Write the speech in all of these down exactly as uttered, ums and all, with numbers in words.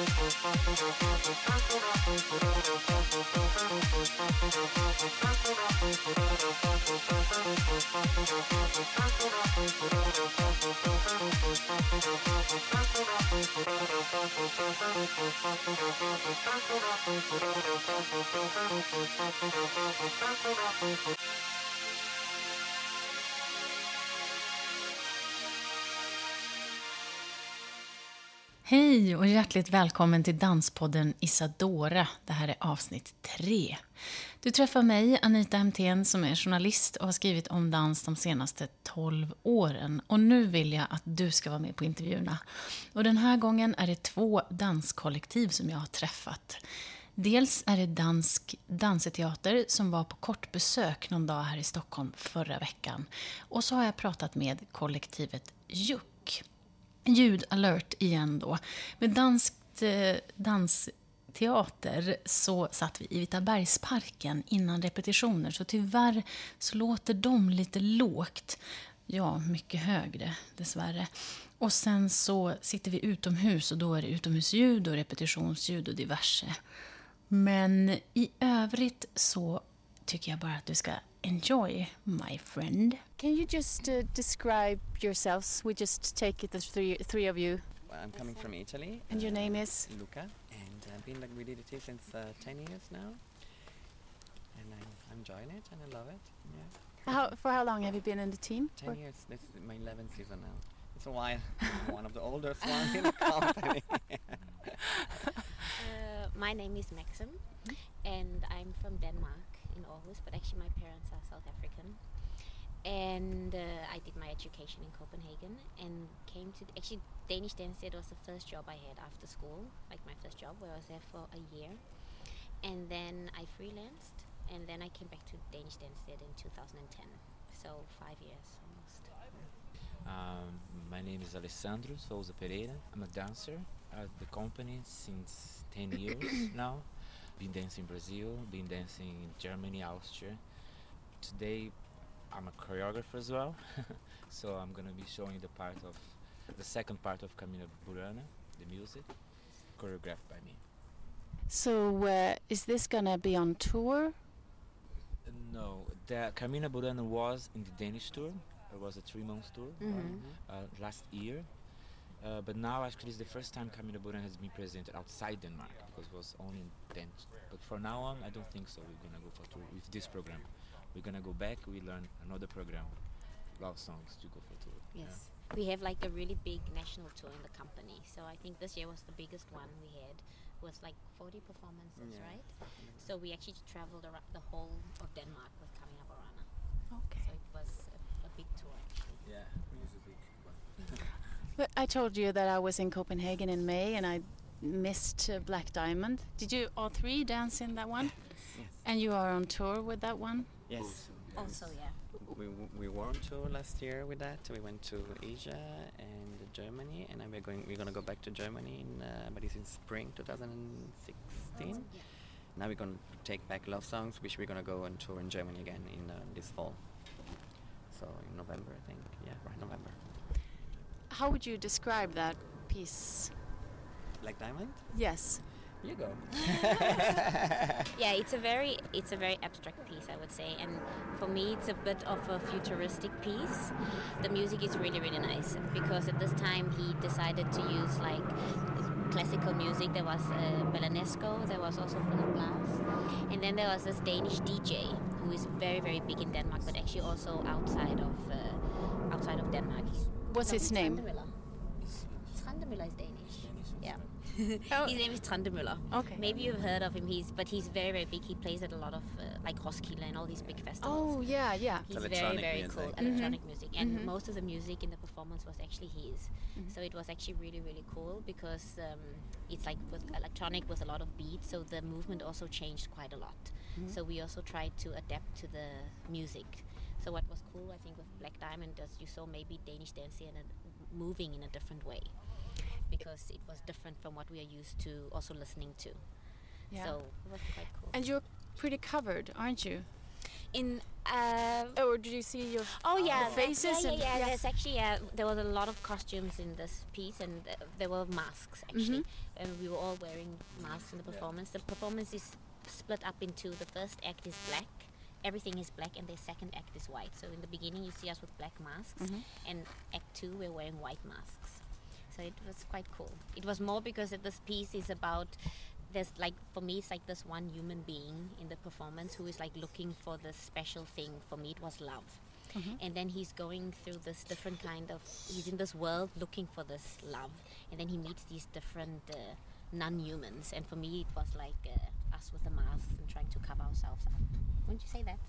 Hej och hjärtligt välkommen till Danspodden Isadora. Det här är avsnitt tre. Du träffar mig, Anita Hemtén, som är journalist och har skrivit om dans de senaste tolv åren. Och nu vill jag att du ska vara med på intervjuerna. Och den här gången är det två danskollektiv som jag har träffat. Dels är det dansk danseteater som var på kort besök någon dag här i Stockholm förra veckan. Och så har jag pratat med kollektivet Juck. Ljudalert igen då. Med danskt eh, dansteater så satt vi i Vitabergsparken innan repetitioner. Så tyvärr så låter de lite lågt. Ja, mycket högre dessvärre. Och sen så sitter vi utomhus och då är det utomhusljud och repetitionsljud och diverse. Men i övrigt så tycker jag bara att du ska enjoy, my friend. Can you just uh, describe yourselves? We just take it, the three, three of you. Well, I'm coming from Italy. And your uh, name is? Luca. And I've been like with it since uh, ten years now. And I'm, I'm enjoying it and I love it. Yeah. How, for how long have you been in the team? ten For? years. This is my eleventh season now. It's a while. I'm one of the oldest ones in the company. uh, my name is Maxim. And I'm from Denmark. In Aarhus, but actually my parents are South African, and uh, I did my education in Copenhagen and came to actually Danish Dance Theatre was the first job I had after school, like my first job where I was there for a year, and then I freelanced, and then I came back to Danish Dance Theatre in two thousand ten, so five years almost. Um, my name is Alessandro Souza Pereira. I'm a dancer at the company since ten years now. Been dancing in Brazil, been dancing in Germany, Austria. Today I'm a choreographer as well, so I'm gonna be showing the part of the second part of Camina Burana, the music, choreographed by me. So uh, is this gonna be on tour? Uh, no, the Camina Burana was in the Danish tour. It was a three-month tour Mhm. uh, last year. Uh, but now actually it's the first time Camina Burana has been presented outside Denmark because it was only in Danish. But for now on, I don't think so. We're gonna go for tour with this program. We're gonna go back. We learn another program, love songs, to go for tour. Yes, Yeah. we have like a really big national tour in the company. So I think this year was the biggest one we had. Was like forty performances, Yeah. right? So we actually traveled around the whole of Denmark with Camina Burana. Okay. So it was a, a big tour actually. Yeah, music big one. But I told you that I was in Copenhagen in May and I missed uh, Black Diamond. Did you all three dance in that one? Yes. And you are on tour with that one? Yes. Also, yeah. We we were on tour last year with that. We went to Asia and Germany, and then we're going. We're gonna go back to Germany in, uh, but it's in spring twenty sixteen. Yeah. Now we're gonna take back Love Songs, which we're gonna go on tour in Germany again in uh, this fall. So in November, I think. Yeah, right, November. How would you describe that piece? Black Diamond. Yes. You go. Yeah, it's a very it's a very abstract piece, I would say, and for me it's a bit of a futuristic piece. The music is really really nice because at this time he decided to use like classical music. There was uh, Belanesco, there was also Philip Glass, and then there was this Danish D J who is very very big in Denmark, but actually also outside of uh, outside of Denmark. What's his name? Trandemøller. Trandemøller is Danish. Yeah. Oh. His name is Trandemøller. Okay. Maybe you've heard of him. He's but he's very very big. He plays at a lot of uh, like Roskilde and all these big festivals. Oh, yeah, yeah. He's very Electronic very music. cool. Mhm. Electronic music, and Mhm. most of the music in the performance was actually his. Mhm. So it was actually really really cool because um, it's like with electronic with a lot of beats. So the movement also changed quite a lot. Mhm. So we also tried to adapt to the music. So what was cool, I think, with Black Diamond is you saw maybe Danish dance in a, moving in a different way, because it was different from what we are used to also listening to. Yeah. So it was quite cool. And you're pretty covered, aren't you? In uh, Or did you see your oh yeah, the faces? that, yeah, and- yeah, yeah. There's actually uh, there was a lot of costumes in this piece, and uh, there were masks actually, and we were all wearing masks in the performance. The performance is split up into the first act is black, everything is black, and the second act is white. So in the beginning you see us with black masks, and act two we're wearing white masks. So it was quite cool. It was more because that this piece is about. There's like, for me, it's like this one human being in the performance who is like looking for this special thing. For me, it was love. And then he's going through this different kind of, he's in this world looking for this love. And then he meets these different uh, non-humans. And for me, it was like uh, us with the masks and trying to cover ourselves up. Wouldn't you say that?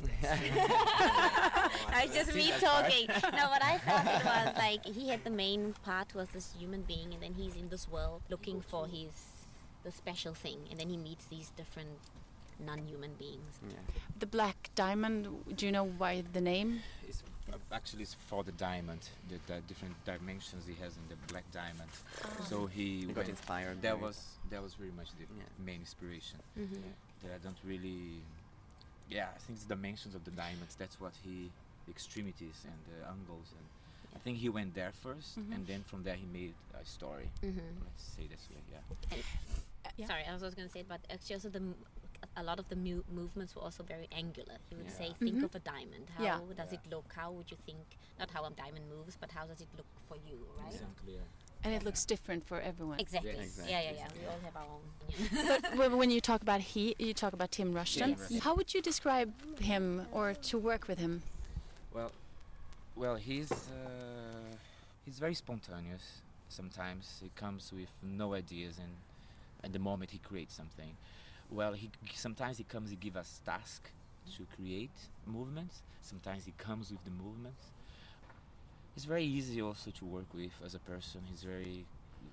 I was just me talking. No, what I thought it was like, he had the main part was this human being, and then he's in this world looking for his the special thing, and then he meets these different non-human beings. Yeah. The Black Diamond, do you know why the name? It's uh, actually it's for the diamond, the, the different dimensions he has in the black diamond. So he, He got went- inspired. That by- was that was very much the Yeah. main inspiration. Mm-hmm. That I don't really, yeah, I think it's the dimensions of the diamonds. That's what he, the extremities and the angles, and I think he went there 1st and then from there he made a story. Mm-hmm. Let's say this way, yeah. Yeah. Sorry, I was also going to say, but actually also the m- a lot of the mu- movements were also very angular. He would Yeah. say, think Mhm. of a diamond. How Yeah. does Yeah. it look? How would you think, not how a diamond moves, but how does it look for you, right? Exactly. Yeah. And it looks different for everyone. Exactly. Yeah, exactly. Yeah, yeah, yeah. We all have our own. But when- when you talk about he, you talk about Tim Rushton. Tim Rushton. How would you describe him or to work with him? Well, well, he's uh, he's very spontaneous. Sometimes he comes with no ideas, and at the moment he creates something. Well, he sometimes he comes, he gives us task to create movements. Sometimes he comes with the movements. He's very easy also to work with as a person. He's very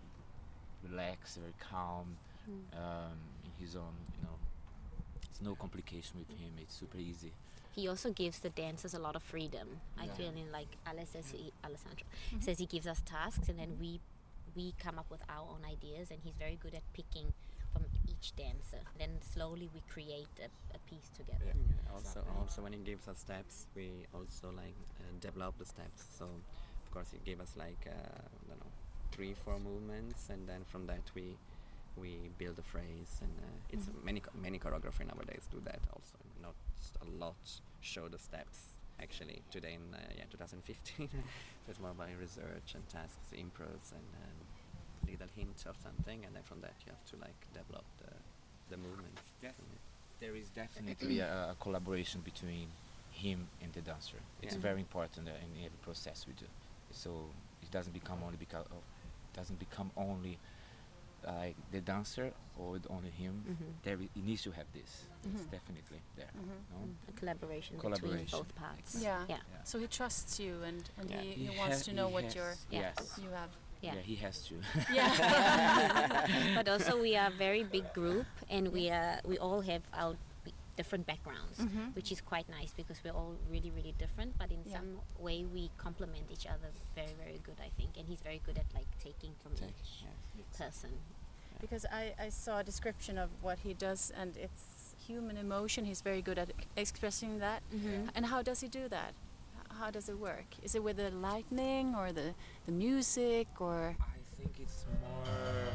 relaxed, very calm, um, in his own, you know. There's no complication with him. It's super easy. He also gives the dancers a lot of freedom. I Yeah. feel in like Ale says he, Alessandro says he gives us tasks, and then we we come up with our own ideas, and he's very good at picking from each dancer. Then slowly we create a, a piece together. Yeah. Yeah, also, Exactly. also when he gives us steps, we also like uh, develop the steps. So, of course, he gave us like uh, I don't know, three, four movements, and then from that we we build a phrase. And uh, it's many cho- many choreography nowadays do that also. Not a lot show the steps actually today in uh, yeah twenty fifteen. So it's more by research and tasks, improvs, and um, little hint of something, and then from that you have to like develop the the movements. Yes. There is definitely a, a collaboration between him and the dancer. It's Yeah. very important uh, in every process we do. So it doesn't become only because of, doesn't become only like the dancer or only him. Mhm. There i- it needs to have this. It's definitely there. No? A collaboration, between Collaboration. both parts. Yeah. Yeah. Yeah. So he trusts you, and, and Yeah. he, He he wants ha- to know he what has- you're Yeah. Yes. you have. Yeah. Yeah, he has to. Yeah. But also we are a very big group, and we are we all have our b- different backgrounds, Mhm. which is quite nice because we're all really really different, but in Yeah. some way we complement each other very very good, I think. And he's very good at like taking from Take- each yeah. person. Because I, I saw a description of what he does, and it's human emotion. He's very good at expressing that. Mhm. And how does he do that? H- How does it work? Is it with the lightning or the, the music or? I think it's more.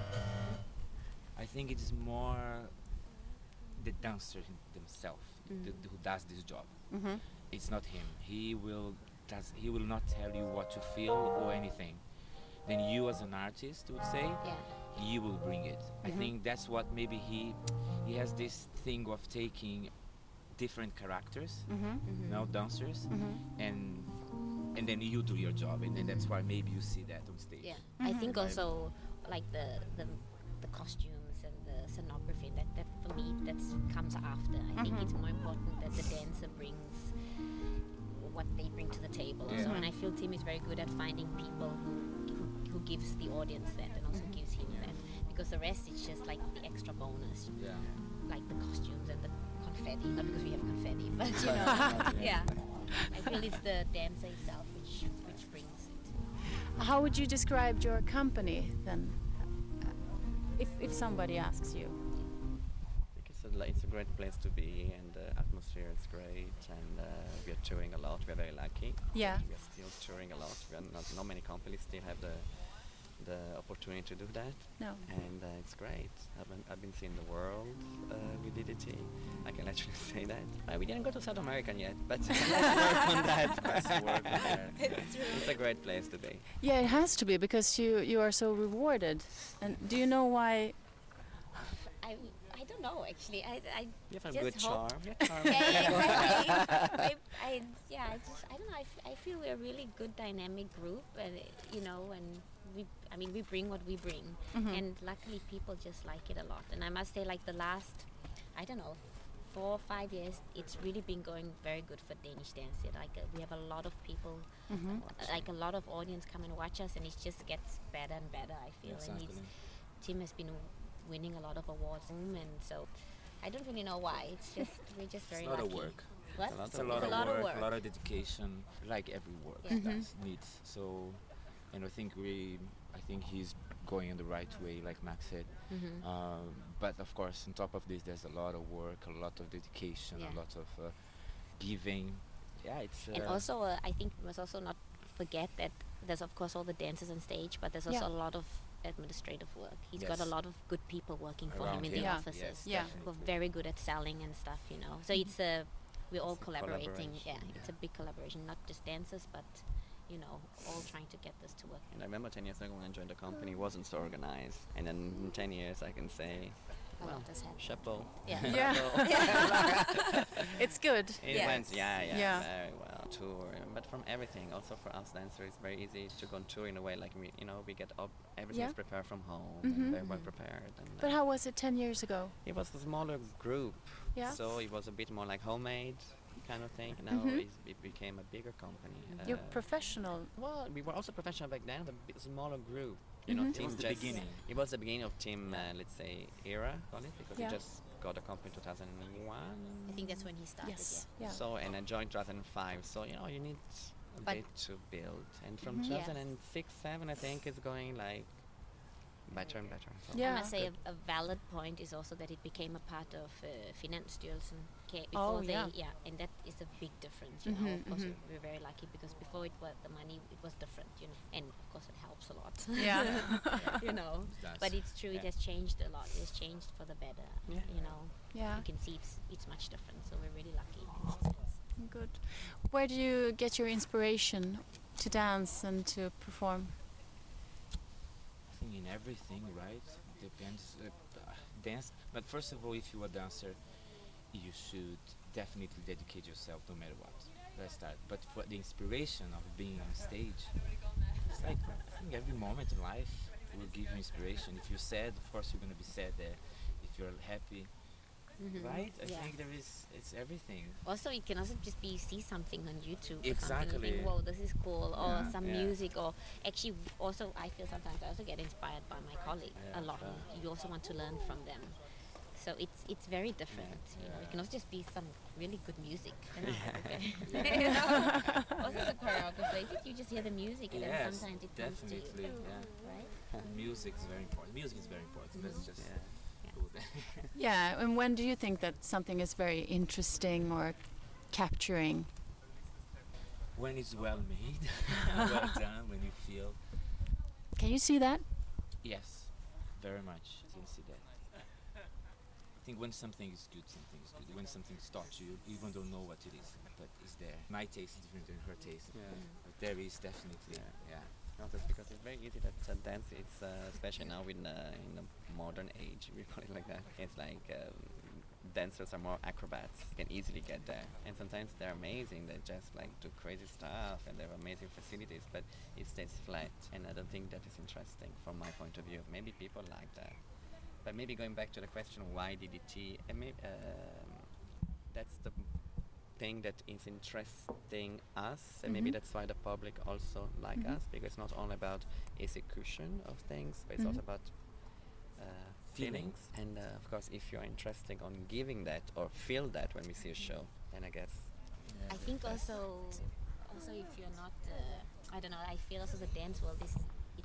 I think it's more the dancer him- themselves Mm. th- who does this job. Mm-hmm. It's not him. He will does. He will not tell you what to feel or anything. Then you, as an artist, would say, Yeah. you will bring it. I Mhm. think that's what maybe he he has this thing of taking different characters, Mm-hmm. Mhm. now dancers, Mm-hmm. and and then you do your job, and then that's why maybe you see that on stage. Yeah, I Mhm. think Right. also like the the the costumes and the scenography, that that for me that comes after. I think Mhm. it's more important that the dancer brings what they bring to the table also. Yeah. And I feel Tim is very good at finding people who who, who gives the audience that and also gives him Yeah. that, because the rest is just like the extra bonus, Yeah. like the costumes and the confetti. Not because we have confetti, but you know, yeah. I feel it's the dancer itself which which brings it. How would you describe your company then? If if somebody asks you. I think it's a li- it's a great place to be, and the atmosphere is great, and uh, we are touring a lot. We are very lucky. Yeah. We are still touring a lot. We are not, not many companies still have the the opportunity to do that, No. and uh, it's great. I've been, I've been seeing the world uh, with D D T. I can actually say that. Uh, we didn't go to South America yet, but let's work on that. Let's work on that. It's a great place to be. Yeah, it has to be because you you are so rewarded. And do you know why? I, I don't know actually. I, I You have a just good hope- charm. You're charming. yeah, yeah, exactly. I, I, yeah, I just, I don't know. I, f- I feel we're a really good dynamic group, and uh, you know, and we, I mean, we bring what we bring, Mhm. and luckily people just like it a lot. And I must say, like the last, I don't know, four or five years, it's really been going very good for Danish dance. It, Like uh, we have a lot of people, Mhm. uh, like a lot of audience come and watch us, and it just gets better and better. I feel, and Exactly. it's, Tim has been winning a lot of awards, and so I don't really know why. It's just we're just very It's a lot lucky. of work. What? It's a lot It's a of lot, It's of, a lot of work, work. a lot of dedication, like every work Yeah. does, needs. So, and I think we, I think he's going in the right way, like Max said. Mhm. Um, but of course, on top of this, there's a lot of work, a lot of dedication, Yeah. a lot of uh, giving. Yeah, it's. Uh, And also, uh, I think we must also not forget that there's of course all the dancers on stage, but there's also Yeah. a lot of administrative work. He's got a Yes. lot of good people working for Around him in him. the Yeah. offices. Yes, Yeah. Who are definitely. very good at selling and stuff, you know. So it's a we're all It's a collaborating. Yeah, collaboration, it's yeah. a big collaboration, not just dancers, but you know, all trying to get this to work. And I remember ten years ago when I joined the company, it wasn't so organized. And then in ten years, I can say, A well, lot has happened. chapeau. Yeah. Yeah. It's good. It Yeah. went, yeah, yeah, Yeah. very well. Tour, but from everything. Also for us dancers, it's very easy to go on tour in a way. Like we, you know, we get up, everything Yeah. is prepared from home, Mhm. and very well Mhm. prepared. And But uh, how was it ten years ago? it was a smaller group, Yeah. so it was a bit more like homemade kind of thing. Now Mhm. it's, it became a bigger company. You're Uh, professional. Well, we were also professional back then, but a smaller group. You Mhm. know, It Team was the just- beginning. It was the beginning of Team, uh, let's say, era, call it, because Yeah. we just got a company in two thousand one. I think that's when he started. Yes. Yeah. Yeah. So, and I joined two thousand five. So, you know, you need a But- bit to build. And from Mhm. two Yeah. thousand six, seven, I think it's going like better and better. So Yeah. I must say good. a, a valid point is also that it became a part of uh, Finansstyrelsen. Okay, Oh, before they, yeah. yeah, and that is a big difference. You know, Mhm, of course mhm. we're very lucky because before it was the money, it was different. You know, and of course it helps a lot. Yeah. you know, It does. but it's true. It Yeah. has changed a lot. It has changed for the better. Yeah. You know, Yeah. you can see it's it's much different. So we're really lucky in that sense. Good. Where do you get your inspiration to dance and to perform? I think in everything, right? Depends. Uh, uh, dance. But first of all, if you're a dancer, you should definitely dedicate yourself no matter what. Let's start. But for the inspiration of being on stage, it's like I think every moment in life will give you inspiration. If you're sad, of course you're gonna be sad there. If you're happy, Mhm. right? I Yeah. think there is. It's everything. Also, it can also just be you see something on YouTube or something, you Exactly. think, whoa, this is cool, or Yeah. some Yeah. music, or actually, also I feel sometimes I also get inspired by my colleague Yeah, a lot. sure. You also want to learn from them, so it's it's very different. You know, it can also just be some really good music. You know, okay. You know? Also, as a choreographer, if you just hear the music, and then Yes, sometimes it comes to definitely. you, Yeah. right? Music is very important. Music is very important. Let's just Yeah. go there. Yeah, and when do you think that something is very interesting or capturing? When it's well made, well done, when you feel Can you see that? yes, very much. I can see that. I think when something is good, something is good. When something starts, you even don't know what it is, but it's there. My taste is different than her taste, Yeah. but there is definitely, Yeah. yeah. No, that's because it's very easy that uh, dance. It's uh, especially now in uh, in the modern age, we call it like that. It's like um, dancers are more acrobats. You can easily get there, and sometimes they're amazing. They just like do crazy stuff, and they have amazing facilities. But it stays flat, and I don't think that is interesting from my point of view. Maybe people like that, but maybe going back to the question why D D T, and maybe, um, that's the thing that is interesting us, and maybe Mhm. that's why the public also like Mhm. us, because it's not only about execution of things, but it's Mhm. also about uh, Feeling. feelings. And uh, of course, if you're interested on giving that or feel that when we see a show, then I guess I think also, also if you're not, uh, I don't know. I feel also the dance world is it's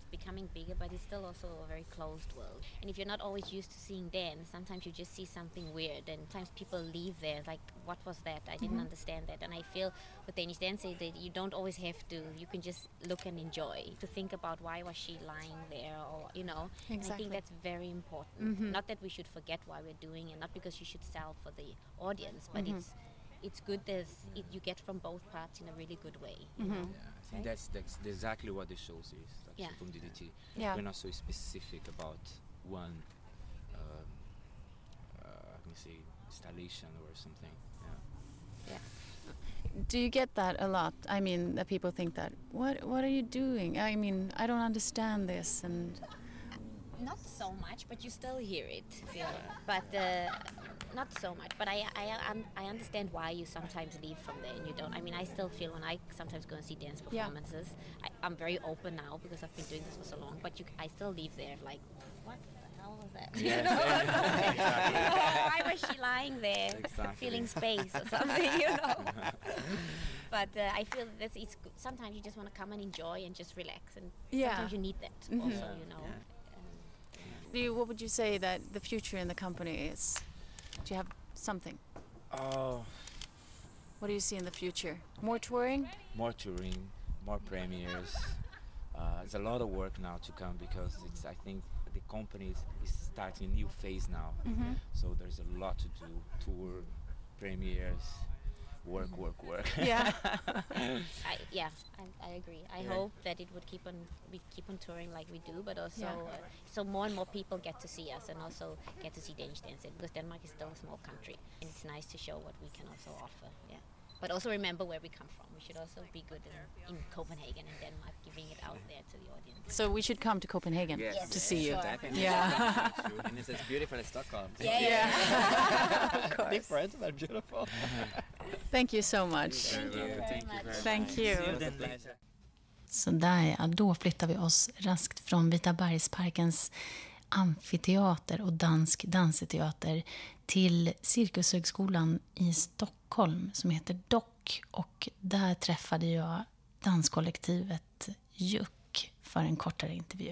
becoming bigger, but it's still also a very closed world. And if you're not always used to seeing dance, sometimes you just see something weird, and sometimes people leave there like, what was that? I didn't mm-hmm. understand that. And I feel with Danish dancing that you don't always have to, you can just look and enjoy, to think about why was she lying there, or, you know. Exactly. And I think that's very important. Mm-hmm. Not that we should forget why we're doing it, not because you should sell for the audience, but mm-hmm. it's it's good that it, you get from both parts in a really good way. You mm-hmm. know? Yeah, I think right? that's, that's exactly what the shows is. That's yeah. From D D T. Yeah. We're not so specific about one, um, uh, let me say, installation or something. Yeah. Yeah. Do you get that a lot? I mean, that people think that, what what are you doing? I mean, I don't understand this. And not so much, but you still hear it. Yeah. But uh, not so much. But I I um, I understand why you sometimes leave from there and you don't. I mean, I still feel when I sometimes go and see dance performances, yeah. I, I'm very open now because I've been doing this for so long. But you, I still leave there like, what the hell was that? Yeah. You know, yeah. Exactly. You know, why was she lying there, exactly. feeling space or something? You know. But uh, I feel that it's good. Sometimes you just want to come and enjoy and just relax, and yeah. sometimes you need that mm-hmm. also. You know. Yeah. Do you, what would you say that the future in the company is? Do you have something? Oh. What do you see in the future? More touring? More touring, more premieres. Uh, there's a lot of work now to come because it's. I think the company is, is starting a new phase now. Mm-hmm. So there's a lot to do. Tour, premieres, work, work, work. Yeah. I, yeah, I, I agree. I yeah. hope that it would keep on we keep on touring like we do, but also yeah. uh, so more and more people get to see us and also get to see Danish dancing, because Denmark is still a small country and it's nice to show what we can also offer. Yeah. But also remember where we come from. We should also be good in, in Copenhagen and Denmark, giving it out there to the audience. So we should come to Copenhagen yes. to yes. see you. Definitely. Yeah. And it's as beautiful as Stockholm. Yeah. yeah. Different but beautiful. Thank you so much. Thank you very much. Thank you. Så där, ja, då flyttar vi oss raskt från Vitabergsparkens amfiteater och dansk danseteater till Cirkushögskolan i Stockholm som heter D O C, och där träffade jag danskollektivet Juck för en kortare intervju.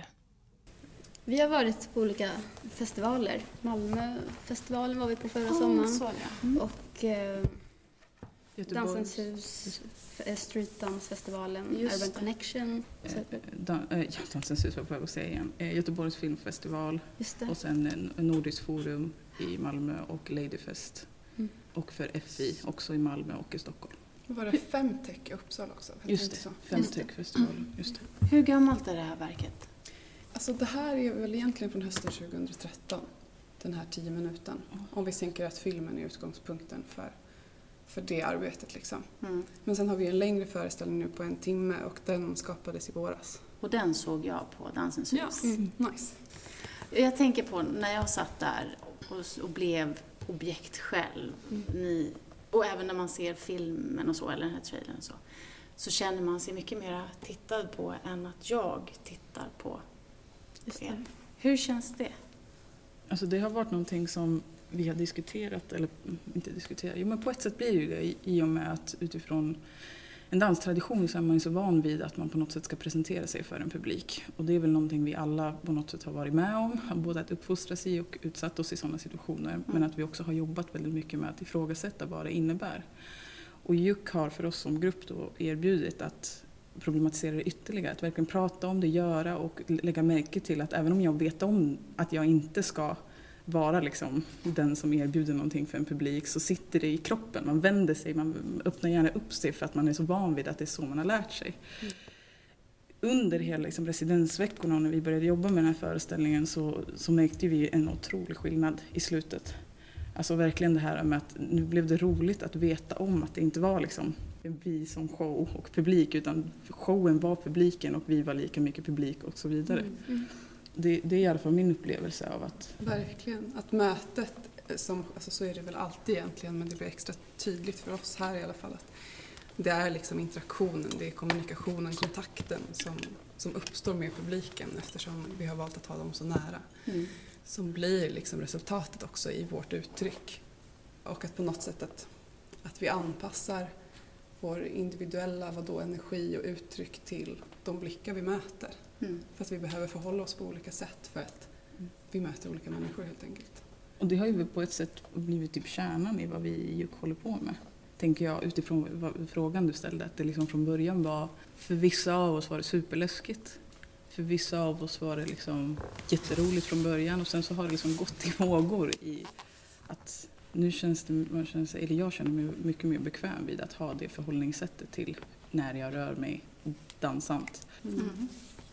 Vi har varit på olika festivaler. Malmöfestivalen var vi på förra oh, sommaren. Så, ja. mm. Och eh, Dansens hus, Streetdansfestivalen, Urban det. Connection. Eh, dan, eh, ja, Dansens hus var på att säga igen. Eh, Göteborgs filmfestival och sen en, en Nordisk forum i Malmö och Ladyfest. Mm. Och för F I också i Malmö och i Stockholm. Var det Femtech i Uppsala också? Just det, Femtech-festivalen. Just det. Hur gammalt är det här verket? Alltså det här är väl egentligen från hösten tjugohundratretton, den här tio minuten. Mm. Om vi tänker att filmen är utgångspunkten för, för det arbetet liksom. Mm. Men sen har vi en längre föreställning nu på en timme och den skapades i våras. Och den såg jag på Dansens hus. Ja. Mm. Nice. Jag tänker på när jag satt där och, och blev objekt själv. Mm. Ni, och även när man ser filmen och så, eller den här trailern så, så känner man sig mycket mer tittad på än att jag tittar på, på er. Hur känns det? Alltså det har varit någonting som vi har diskuterat, eller inte diskuterat, jo men på ett sätt blir det ju det i, i och med att utifrån en danstradition så är man ju så van vid att man på något sätt ska presentera sig för en publik. Och det är väl någonting vi alla på något sätt har varit med om, både att uppfostras i och utsatt oss i sådana situationer. Mm. Men att vi också har jobbat väldigt mycket med att ifrågasätta vad det innebär. Och Juck har för oss som grupp då erbjudit att problematisera det ytterligare. Att verkligen prata om det, göra och lägga märke till att även om jag vet om att jag inte ska vara liksom den som erbjuder någonting för en publik, så sitter det i kroppen. Man vänder sig, man öppnar gärna upp sig för att man är så van vid att det är så man har lärt sig. Mm. Under hela liksom residensveckorna när vi började jobba med den här föreställningen så, så märkte vi en otrolig skillnad i slutet. Alltså verkligen det här med att nu blev det roligt att veta om att det inte var liksom vi som show och publik, utan showen var publiken och vi var lika mycket publik och så vidare. Mm. Mm. Det, det är i alla fall min upplevelse av att... Verkligen. Att mötet, som, alltså så är det väl alltid egentligen, men det blir extra tydligt för oss här i alla fall. Att det är liksom interaktionen, det är kommunikationen, kontakten som, som uppstår med publiken eftersom vi har valt att ha dem så nära. Mm. Som blir liksom resultatet också i vårt uttryck. Och att på något sätt att, att vi anpassar vår individuella vadå, energi och uttryck till de blickar vi möter. Mm. För att vi behöver förhålla oss på olika sätt för att mm. vi möter olika människor helt enkelt. Och det har ju på ett sätt blivit typ kärnan i vad vi i Juk håller på med. Tänker jag utifrån vad, frågan du ställde. Att det liksom från början var, för vissa av oss var det superläskigt. För vissa av oss var det liksom jätteroligt från början. Och sen så har det liksom gått i vågor i att nu känns det, man känns, eller jag känner mig mycket mer bekväm vid att ha det förhållningssättet till när jag rör mig dansant. Mm.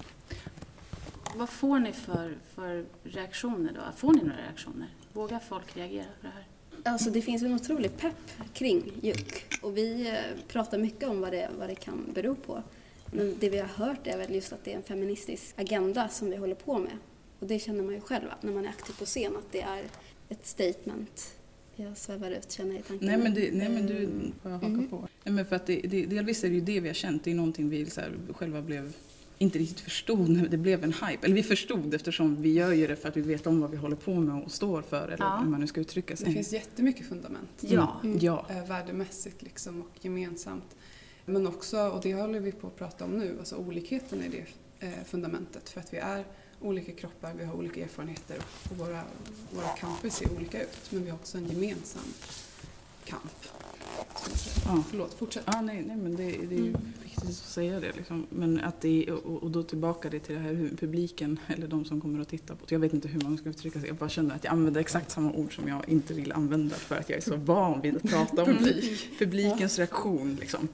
Vad får ni för, för reaktioner då? Får ni några reaktioner? Vågar folk reagera på det här? Alltså det finns en otrolig pepp kring Juk och vi pratar mycket om vad det, vad det kan bero på. Men det vi har hört är väl just att det är en feministisk agenda som vi håller på med. Och det känner man ju själv när man är aktiv på scen, att det är ett statement. Jag svävar ut, känner jag i tanken. Nej men, det, nej, men du får jag haka mm. på. Nej, men för att det, det, delvis är det ju det vi har känt. Det är någonting vi så här, själva blev inte riktigt förstod när det blev en hype. Eller vi förstod eftersom vi gör ju det för att vi vet om vad vi håller på med och står för. Eller ja. hur man nu ska uttrycka sig. Det finns jättemycket fundament. Ja. Mm. ja. Värdemässigt liksom och gemensamt. Men också, och det håller vi på att prata om nu, alltså olikheten är det fundamentet. För att vi är olika kroppar, vi har olika erfarenheter och våra, våra kamper ser olika ut. Men vi har också en gemensam kamp. Ja. Förlåt, fortsätt. Ja, nej, nej, men det, det är mm. viktigt att säga det. Liksom. Men att det, och, och då tillbaka det till det här hur publiken, eller de som kommer att titta på. Jag vet inte hur man ska uttrycka sig. Jag bara känner att jag använder exakt samma ord som jag inte vill använda för att jag är så van vid att prata om publik. Publikens reaktion, liksom.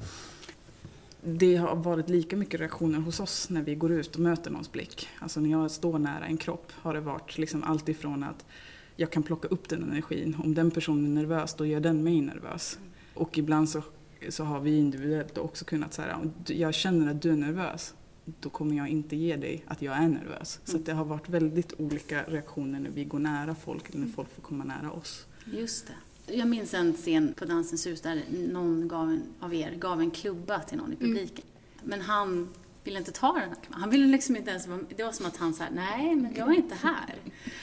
Det har varit lika mycket reaktioner hos oss när vi går ut och möter någons blick. Alltså när jag står nära en kropp har det varit liksom allt ifrån att jag kan plocka upp den energin. Om den personen är nervös, då gör den mig nervös. Och ibland så, så har vi individuellt också kunnat säga, om jag känner att du är nervös, då kommer jag inte ge dig att jag är nervös. Så att det har varit väldigt olika reaktioner när vi går nära folk eller när folk får komma nära oss. Just det. Jag minns en scen på Dansens hus där någon gav en, av er gav en klubba till någon i publiken. Mm. Men han ville inte ta den här klubban. Han ville liksom inte ens, det var som att han sa, nej men jag är inte här.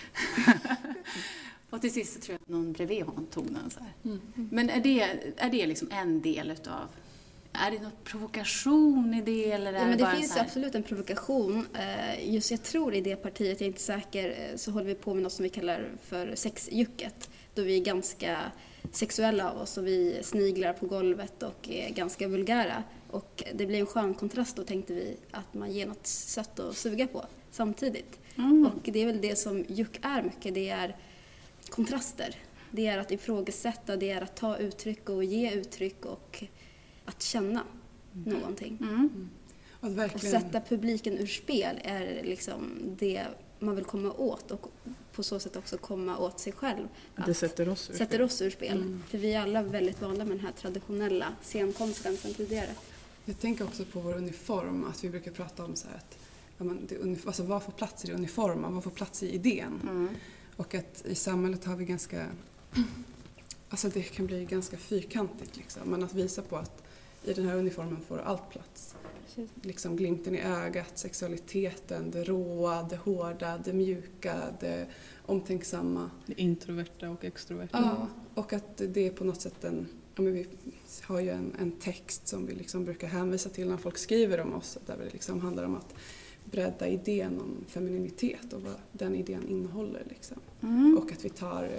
Och till sist så tror jag att någon bredvid honom tog den så här. Mm. Men är det, är det liksom en del utav, är det någon provokation i det? Eller är ja, men det, det bara finns så här? Absolut en provokation. Just jag tror i det partiet, jag är inte säker, så håller vi på med något som vi kallar för sexjucket. Då vi är ganska sexuella av oss och vi sniglar på golvet och är ganska vulgära. Och det blir en skön kontrast då, tänkte vi, att man ger något sött att suga på samtidigt. Mm. Och det är väl det som juk är mycket, det är kontraster. Det är att ifrågasätta, det är att ta uttryck och ge uttryck och att känna mm. någonting. Mm. Och, verkligen... och sätta publiken ur spel är liksom det man vill komma åt och på så sätt också komma åt sig själv. Det sätter oss ur sätter spel. Oss ur spel. Mm. För vi är alla väldigt vana med den här traditionella scenkonsten som tidigare. Jag tänker också på vår uniform, att vi brukar prata om så här att ja, men det, alltså, vad får plats i uniformen, vad får plats i idén? Mm. Och att i samhället har vi ganska, alltså det kan bli ganska fyrkantigt liksom, men att visa på att i den här uniformen får allt plats. Precis. Liksom glimten i ögat, sexualiteten, det råa, det hårda, det mjuka, det omtänksamma. Det introverta och extroverta. Ja, och att det är på något sätt en, ja, men vi har ju en, en text som vi liksom brukar hänvisa till när folk skriver om oss, där det liksom handlar om att bredda idén om femininitet och vad den idén innehåller. Liksom. Mm. Och att vi tar,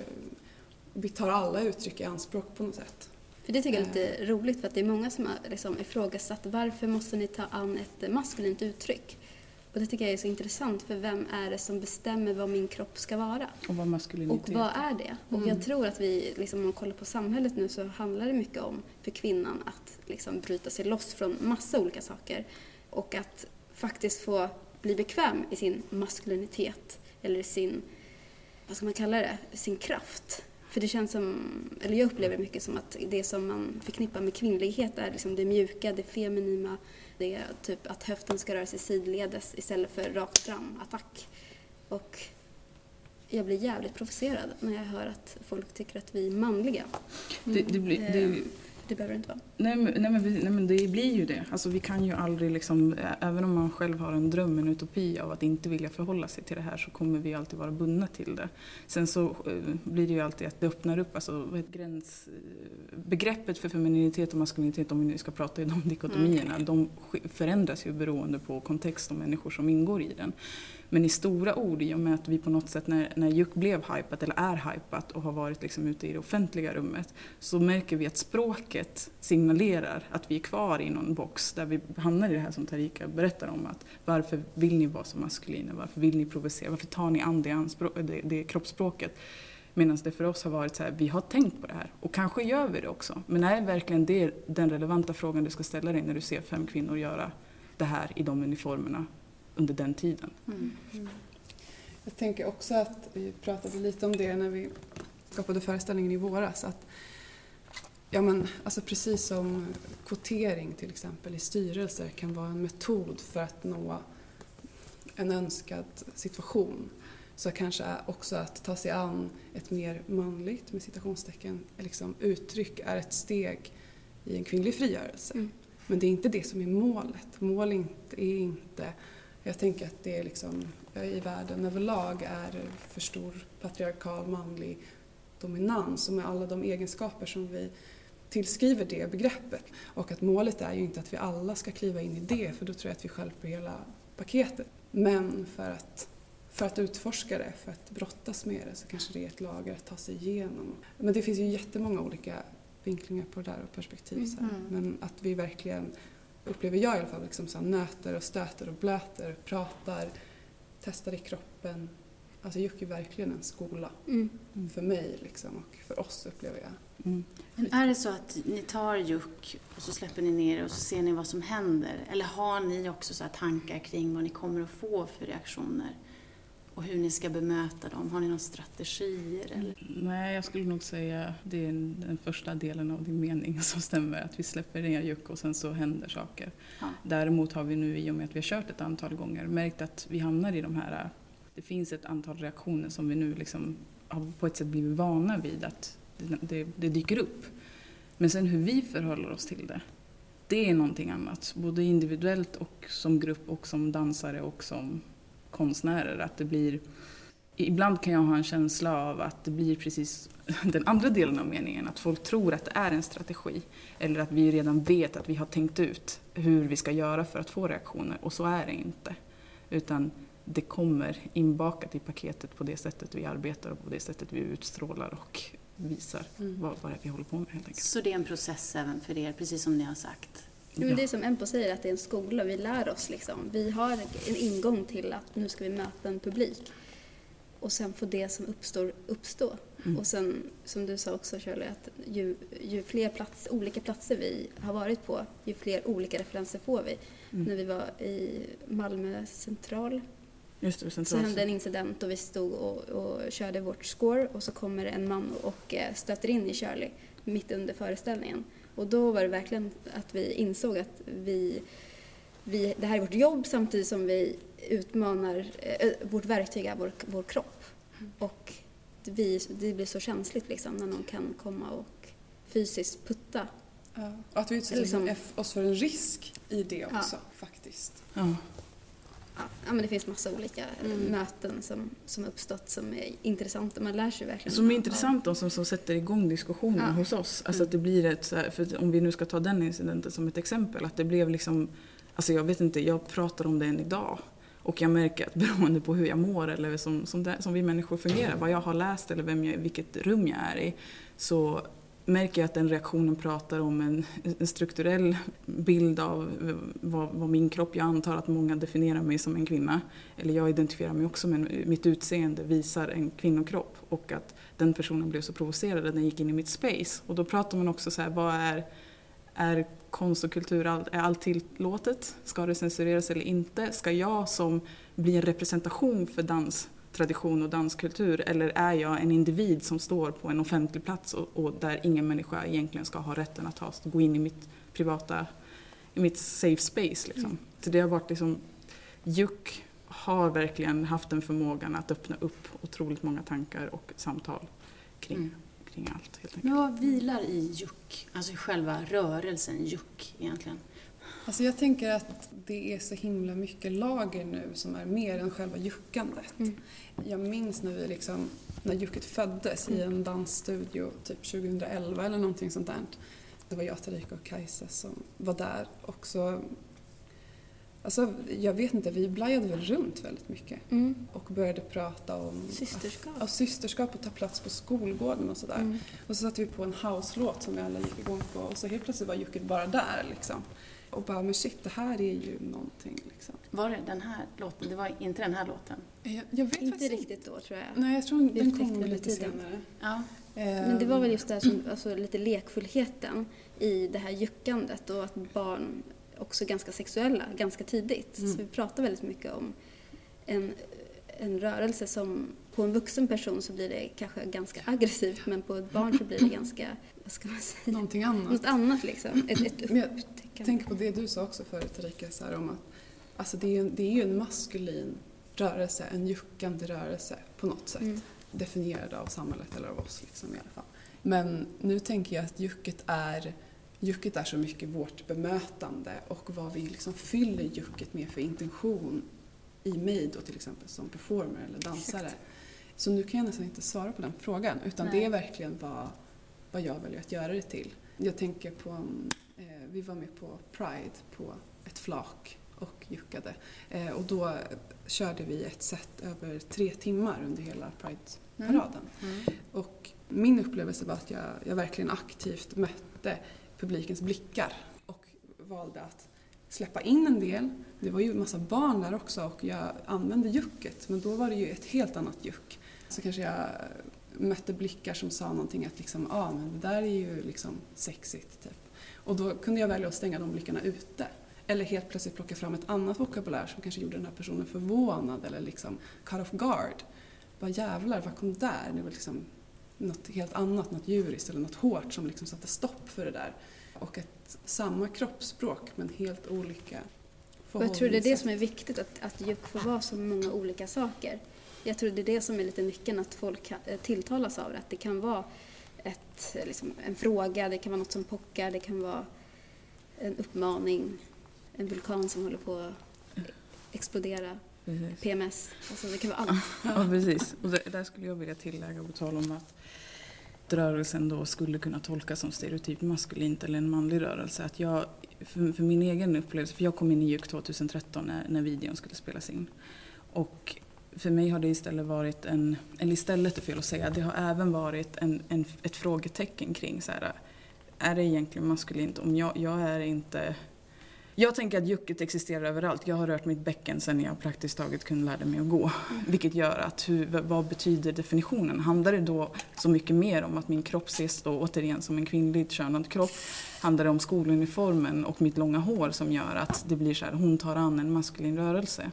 vi tar alla uttryck i anspråk på något sätt. För det tycker jag är lite roligt, för att det är många som har liksom ifrågasatt varför måste ni ta an ett maskulint uttryck. Och det tycker jag är så intressant, för vem är det som bestämmer vad min kropp ska vara? Och vad maskulinitet. Och vad är det? Mm. Och jag tror att vi, liksom, om man kollar på samhället nu, så handlar det mycket om för kvinnan att liksom bryta sig loss från massa olika saker. Och att faktiskt få bli bekväm i sin maskulinitet eller sin, vad ska man kalla det, sin kraft. För det känns som, eller jag upplever mycket som att det som man förknippar med kvinnlighet är liksom det mjuka, det feminina, det är typ att höften ska röra sig sidledes istället för rakt fram, attack. Och jag blir jävligt provocerad när jag hör att folk tycker att vi är manliga. Det, det blir, det, det behöver det inte vara. Nej, men, nej, men, vi, nej men det blir ju det. Alltså vi kan ju aldrig liksom, även om man själv har en dröm, en utopi av att inte vilja förhålla sig till det här, så kommer vi alltid vara bundna till det. Sen så eh, blir det ju alltid att det öppnar upp, alltså vad heter gräns, begreppet för femininitet och maskulinitet, om vi nu ska prata i de dikotomierna, mm. de förändras ju beroende på kontext och människor som ingår i den. Men i stora ord, i och med att vi på något sätt, när, när Juk blev hypat eller är hypat och har varit liksom ute i det offentliga rummet, så märker vi att språket signalerar att vi är kvar i någon box där vi hamnar i det här som Tarika berättar om, att varför vill ni vara så maskulina, varför vill ni provocera, varför tar ni an det, anspråk, det, det kroppsspråket? Medan det för oss har varit så här, vi har tänkt på det här och kanske gör vi det också. Men är verkligen det den relevanta frågan du ska ställa dig när du ser fem kvinnor göra det här i de uniformerna under den tiden? Mm. Mm. Jag tänker också att vi pratade lite om det när vi skapade föreställningen i våras. Att, ja men, alltså precis som kvotering till exempel i styrelser kan vara en metod för att nå en önskad situation, så kanske också att ta sig an ett mer manligt, med citationstecken, liksom uttryck är ett steg i en kvinnlig frigörelse. Mm. Men det är inte det som är målet. Målet är inte... Jag tänker att det är liksom, i världen överlag är för stor patriarkal manlig dominans, och med alla de egenskaper som vi tillskriver det begreppet. Och att målet är ju inte att vi alla ska kliva in i det, för då tror jag att vi stjälper hela paketet. Men för att, för att utforska det, för att brottas med det, så kanske det är ett lager att ta sig igenom. Men det finns ju jättemånga olika vinklingar på det där och perspektiv. Så här. Men att vi verkligen, upplever jag i alla fall, liksom så här, nöter och stöter och blöter, pratar, testar i kroppen. Alltså Juk är verkligen en skola mm. för mig liksom, och för oss, upplever jag. Mm. Men är det så att ni tar Juk och så släpper ni ner och så ser ni vad som händer? Eller har ni också så här tankar kring vad ni kommer att få för reaktioner? Och hur ni ska bemöta dem? Har ni några strategier? Eller? Nej, jag skulle nog säga det är den första delen av din mening som stämmer. Att vi släpper ner Juk och sen så händer saker. Ja. Däremot har vi nu, i och med att vi har kört ett antal gånger, märkt att vi hamnar i de här... Det finns ett antal reaktioner som vi nu liksom har på ett sätt blivit vana vid att det, det, det dyker upp. Men sen hur vi förhåller oss till det, det är någonting annat. Både individuellt och som grupp och som dansare och som konstnärer. Att det blir, ibland kan jag ha en känsla av att det blir precis den andra delen av meningen. Att folk tror att det är en strategi. Eller att vi redan vet att vi har tänkt ut hur vi ska göra för att få reaktioner. Och så är det inte. Utan det kommer inbakat i paketet på det sättet vi arbetar och på det sättet vi utstrålar och visar mm. vad, vad vi håller på med helt enkelt. Så det är en process även för er, precis som ni har sagt? Ja, men det är som Empo säger, att det är en skola. Vi lär oss liksom. Vi har en ingång till att nu ska vi möta en publik. Och sen får det som uppstår uppstå. Mm. Och sen, som du sa också, Shirley, att ju, ju fler plats, olika platser vi har varit på, ju fler olika referenser får vi. Mm. När vi var i Malmö central, Just det, så hände en incident och vi stod och, och körde vårt score, och så kommer en man och stöter in i Shirley mitt under föreställningen. Och då var det verkligen att vi insåg att vi, vi, det här är vårt jobb, samtidigt som vi utmanar, äh, vårt verktyg är vår, vår kropp. Mm. Och vi, det blir så känsligt liksom, när någon kan komma och fysiskt putta. Ja, och att vi utsätter liksom, oss för en risk i det också, ja. faktiskt. Ja. Ja, men det finns massa olika mm. möten som, som uppstått som är intressanta. Man lär sig verkligen. Som är intressanta och som, som sätter igång diskussionen ja. hos oss. Alltså mm. att det blir ett, så här, för om vi nu ska ta den incidenten som ett exempel, att det blev liksom, alltså jag vet inte, jag pratar om det än idag. Och jag märker att beroende på hur jag mår eller som, som, det, som vi människor fungerar, vad jag har läst eller vem jag, vilket rum jag är i, så märker jag att den reaktionen pratar om en, en strukturell bild av vad, vad min kropp, jag antar att många definierar mig som en kvinna, eller jag identifierar mig också med mitt utseende visar en kvinnokropp, och att den personen blev så provocerad att den gick in i mitt space. Och då pratar man också så här, vad är, är konst och kultur, är allt tillåtet? Ska det censureras eller inte? Ska jag som blir en representation för dans tradition och danskultur, eller är jag en individ som står på en offentlig plats och, och där ingen människa egentligen ska ha rätten att ha, gå in i mitt privata, i mitt safe space liksom. Mm. Så det har varit liksom, Juk har verkligen haft den förmågan att öppna upp otroligt många tankar och samtal kring, mm. kring allt. Helt enkelt. Men vad vilar i juck? Alltså själva rörelsen juck egentligen? Alltså jag tänker att det är så himla mycket lager nu som är mer än själva juckandet. Mm. Jag minns när vi liksom, när jucket föddes i en dansstudio typ tjugoelva eller någonting sånt där. Det var jag, Tarika och Kajsa som var där också. Alltså, jag vet inte, vi blajade väl runt väldigt mycket mm. och började prata om systerskap, att, ja, systerskap och ta plats på skolgården och sådär. Mm. Och så satte vi på en house-låt som vi alla gick igång på och så helt plötsligt var jucket bara där liksom. Och bara, men shit, det här är ju någonting liksom. Var det den här låten? Det var inte den här låten? Jag, jag vet inte riktigt då, tror jag. Nej, jag tror den kom lite senare. Ja. Men det var väl just det här som, alltså, lite lekfullheten i det här juckandet och att barn också ganska sexuella ganska tidigt. Mm. Så vi pratar väldigt mycket om en, en rörelse som på en vuxen person så blir det kanske ganska aggressivt, men på ett barn så blir det ganska, vad ska man säga? Någonting annat. Något annat liksom. Ett, ett jag tänker på det du sa också förut, Erika, så här om att alltså det, är, det är ju en maskulin rörelse, en juckande rörelse på något sätt. Mm. Definierad av samhället eller av oss liksom, i alla fall. Men nu tänker jag att jucket är Jucket är så mycket vårt bemötande och vad vi liksom fyller jucket med för intention i mig då till exempel som performer eller dansare. Exakt. Så nu kan jag nästan inte svara på den frågan utan Nej. Det är verkligen vad, vad jag väljer att göra det till. Jag tänker på, eh, vi var med på Pride på ett flak och juckade eh, och då körde vi ett set över tre timmar under hela Pride-paraden. Mm. Mm. Och min upplevelse var att jag, jag verkligen aktivt mötte publikens blickar och valde att släppa in en del. Det var ju en massa barn där också och jag använde jucket, men då var det ju ett helt annat juck. Så kanske jag mötte blickar som sa någonting att liksom, ah, men det där är ju liksom sexigt typ. Och då kunde jag välja att stänga de blickarna ute. Eller helt plötsligt plocka fram ett annat vokabulär som kanske gjorde den här personen förvånad eller liksom cut off guard. Vad jävlar, vad kom där? Det var liksom något helt annat, något djuriskt eller något hårt som liksom satte stopp för det där. Och ett samma kroppsspråk men helt olika förhållningssätt. Jag tror det är det som är viktigt, att, att juck får vara så många olika saker. Jag tror det är det som är lite nyckeln, att folk tilltalas av det. Att det kan vara ett, liksom, en fråga, det kan vara något som pockar, det kan vara en uppmaning, en vulkan som håller på att explodera. Precis. P M S, alltså det kan vara allt. Ja, precis. Och det, där skulle jag vilja tillägga och tala om att rörelsen då skulle kunna tolkas som stereotyp maskulint eller en manlig rörelse. Att jag, för, för min egen upplevelse, för jag kom in i juck tjugohundratretton när, när videon skulle spelas in. Och för mig har det istället varit en, eller istället är fel att säga, det har även varit en, en, ett frågetecken kring så här, är det egentligen maskulint? Om jag, jag är inte... Jag tänker att jucket existerar överallt. Jag har rört mitt bäcken sedan jag praktiskt taget kunde lära mig att gå. Mm. Vilket gör att, hur, vad betyder definitionen? Handlar det då så mycket mer om att min kropp ses då återigen som en kvinnligt könad kropp? Handlar det om skoluniformen och mitt långa hår som gör att det blir så här, hon tar an en maskulin rörelse?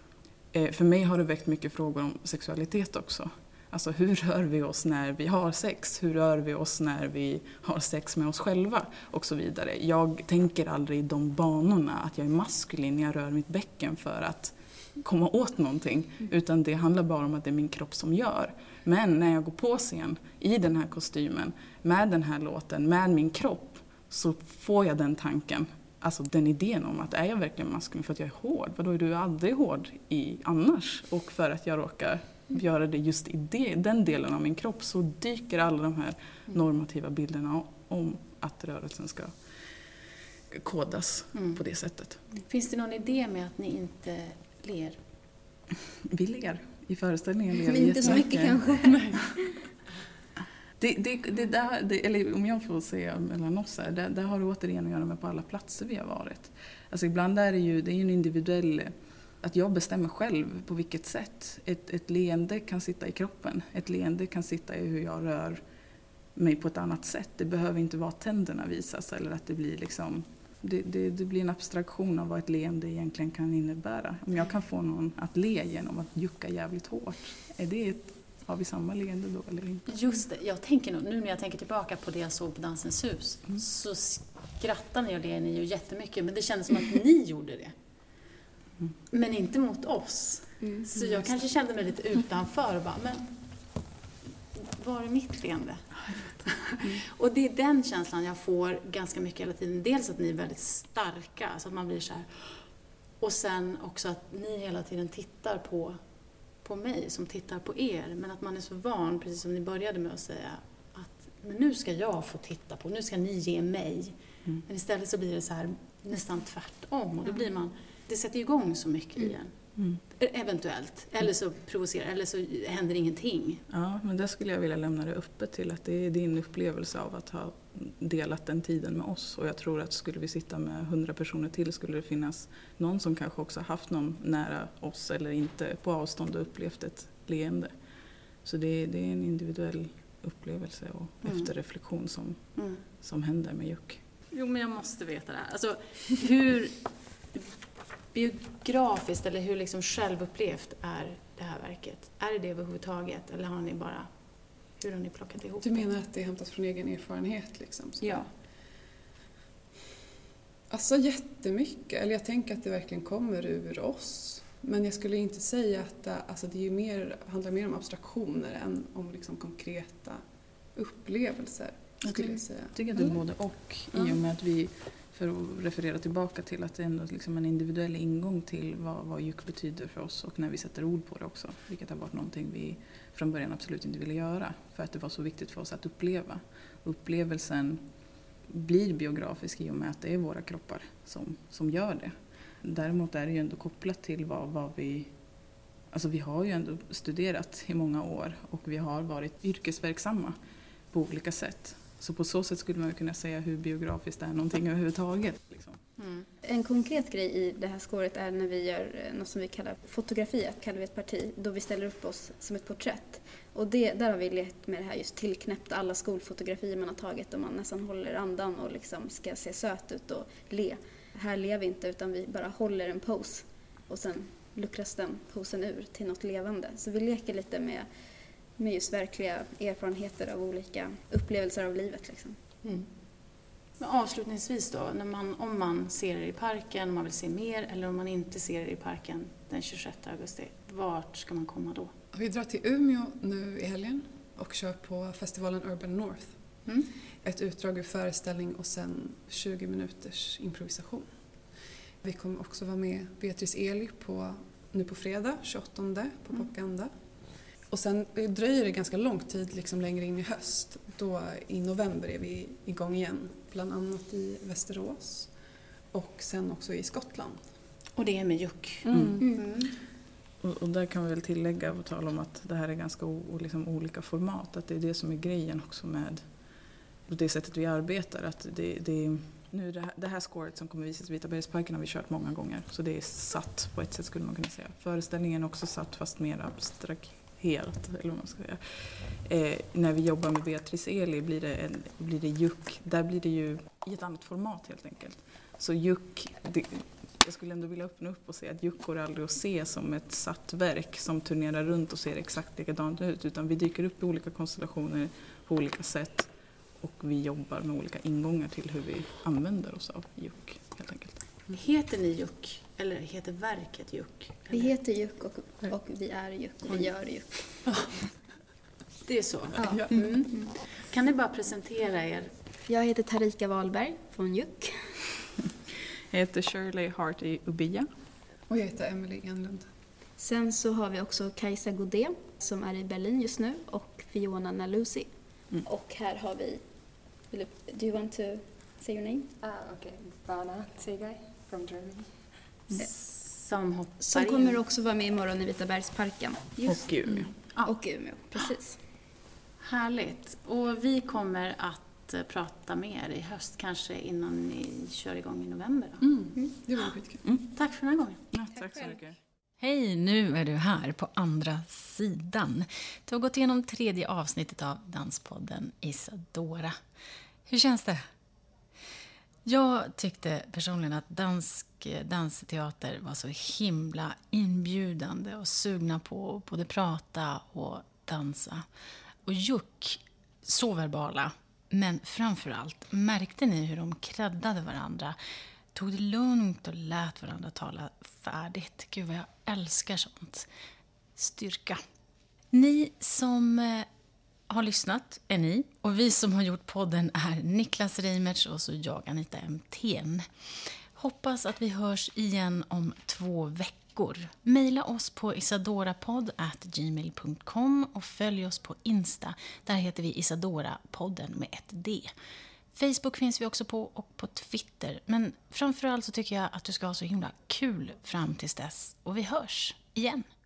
Eh, för mig har det väckt mycket frågor om sexualitet också. Alltså hur rör vi oss när vi har sex? Hur rör vi oss när vi har sex med oss själva? Och så vidare. Jag tänker aldrig i de banorna att jag är maskulin när jag rör mitt bäcken för att komma åt någonting. Utan det handlar bara om att det är min kropp som gör. Men när jag går på scen i den här kostymen, med den här låten, med min kropp, så får jag den tanken. Alltså den idén om att är jag verkligen maskulin för att jag är hård? För då är du aldrig hård i annars. Och för att jag råkar göra det just i det, den delen av min kropp, så dyker alla de här normativa bilderna om att rörelsen ska kodas mm. på det sättet. Finns det någon idé med att ni inte ler? Vi ler i föreställningen. Ler Men inte så mycket kanske. det, det, det där, det, eller om jag får säga mellan oss här, det, det har det återigen att göra med på alla platser vi har varit. Alltså ibland är det ju, det är ju en individuell... Att jag bestämmer själv på vilket sätt. Ett, ett leende kan sitta i kroppen. Ett leende kan sitta i hur jag rör mig på ett annat sätt. Det behöver inte vara att tänderna visas eller att det blir liksom... Det, det, det blir en abstraktion av vad ett leende egentligen kan innebära. Om jag kan få någon att le genom att jucka jävligt hårt. Är det ett, har vi samma leende då eller inte? Just det. Jag tänker nu när jag tänker tillbaka på det jag såg på Dansens hus. Mm. Så skrattar ni och ler ni ju jättemycket. Men det kändes som att ni gjorde det. Mm. Men inte mot oss. Mm. Så jag kanske kände mig lite utanför och bara, men var är mitt leende? Mm. Och det är den känslan jag får ganska mycket hela tiden. Dels att ni är väldigt starka, så att man blir så här. Och sen också att ni hela tiden tittar på, på mig som tittar på er. Men att man är så van, precis som ni började med att säga, att men nu ska jag få titta på, nu ska ni ge mig. Mm. Men istället så blir det så här nästan tvärtom. Och då blir man, det sätter igång så mycket mm. igen. Mm. Eventuellt. Eller så provocerar, eller så händer ingenting. Ja, men där skulle jag vilja lämna det öppet till att det är din upplevelse av att ha delat den tiden med oss. Och jag tror att skulle vi sitta med hundra personer till skulle det finnas någon som kanske också haft någon nära oss eller inte på avstånd och upplevt ett leende. Så det, det är en individuell upplevelse och mm. efterreflektion som, mm. som händer med Juck. Jo, men jag måste veta det här. Alltså, hur biografiskt eller hur liksom självupplevt är det här verket? Är det det överhuvudtaget? Eller har ni bara, hur har ni plockat ihop det? Du menar att det är hämtat från egen erfarenhet liksom? Så. Ja. Alltså jättemycket. Eller jag tänker att det verkligen kommer ur oss. Men jag skulle inte säga att det, alltså det är ju mer, handlar mer om abstraktioner än om liksom konkreta upplevelser. Jag tycker, jag säga. tycker att det är både och. Mm. I och med att vi, för att referera tillbaka till att det är ändå liksom en individuell ingång till vad, vad Juck betyder för oss. Och när vi sätter ord på det också. Vilket har varit någonting vi från början absolut inte ville göra. För att det var så viktigt för oss att uppleva. Upplevelsen blir biografisk i och med att det är våra kroppar som, som gör det. Däremot är det ju ändå kopplat till vad, vad vi... Alltså vi har ju ändå studerat i många år och vi har varit yrkesverksamma på olika sätt. Så på så sätt skulle man kunna säga hur biografiskt det är någonting överhuvudtaget. Liksom. Mm. En konkret grej i det här skåret är när vi gör något som vi kallar fotografiet, kallar vi ett parti, då vi ställer upp oss som ett porträtt. Och det, där har vi lekt med det här just tillknäppta alla skolfotografier man har tagit och man nästan håller andan och liksom ska se söt ut och le. Här lever vi inte utan vi bara håller en pose och sen luckras den posen ur till något levande. Så vi leker lite med, med just verkliga erfarenheter av olika upplevelser av livet. Liksom. Mm. Men avslutningsvis då, när man, om man ser er i parken, om man vill se mer eller om man inte ser er i parken den tjugosjätte augusti, vart ska man komma då? Vi drar till Umeå nu i helgen och kör på festivalen Urban North. Mm. Ett utdrag ur föreställning och sen tjugo minuters improvisation. Vi kommer också vara med Beatrice Eli på, nu på fredag, tjugoåttonde på mm. Popganda. Och sen dröjer det ganska lång tid liksom längre in i höst. Då i november är vi igång igen. Bland annat i Västerås och sen också i Skottland. Och det är med Juck. Mm. Mm. Och, och där kan vi väl tillägga och tala om att det här är ganska o, liksom olika format. Att det är det som är grejen också med det sättet vi arbetar. Att det, det, nu det, här, det här scoret som kommer visas i Vitabergsparken har vi kört många gånger. Så det är satt på ett sätt skulle man kunna säga. Föreställningen är också satt fast mer abstrakt. Helt, eller vad man ska säga. Eh, när vi jobbar med Beatrice Eli blir det, en, blir det Juck. Där blir det ju i ett annat format helt enkelt. Så Juck, det, jag skulle ändå vilja öppna upp och säga att Juck går aldrig att se som ett satt verk som turnerar runt och ser exakt likadant ut. Utan vi dyker upp i olika konstellationer på olika sätt. Och vi jobbar med olika ingångar till hur vi använder oss av Juck helt enkelt. Heter ni Juck? Eller heter verket Juck? Vi heter Juck och, och vi är Juck och vi gör Juck. Det är så? Ja. Mm. Mm. Kan ni bara presentera er? Jag heter Tarika Wahlberg från Juck. Jag heter Shirley Hart i Ubia. Och jag heter Emily Enlund. Sen så har vi också Kajsa Godé som är i Berlin just nu och Fiona Nalusi. Mm. Och här har vi, do you want to say your name? Ah, okay. Vana Tegay from Germany. Som, som kommer också vara med imorgon i Vitabergsparken. Just. Och Umeå. Mm. Och Umeå, precis. Härligt. Och vi kommer att prata med er i höst, kanske innan ni kör igång i november. Då. Mm. Mm. Det var skitkul. Mm. Tack för den här gången. Ja, tack så mycket. Hej, nu är du här på andra sidan. Du har gått igenom tredje avsnittet av Danspodden Isadora. Hur känns det? Jag tyckte personligen att dansk dansteater var så himla inbjudande och sugna på att både prata och dansa. Och Juck, så verbala, men framförallt märkte ni hur de kreddade varandra, tog det lugnt och lät varandra tala färdigt. Gud vad jag älskar sånt. Styrka. Ni som har lyssnat är ni. Och vi som har gjort podden är Niklas Reimertz och så jag, Anita Emthén. Hoppas att vi hörs igen om två veckor. Maila oss på isadorapodd at gmail dot com och följ oss på Insta. Där heter vi Isadora-podden med ett D. Facebook finns vi också på och på Twitter. Men framförallt så tycker jag att du ska ha så himla kul fram tills dess. Och vi hörs igen.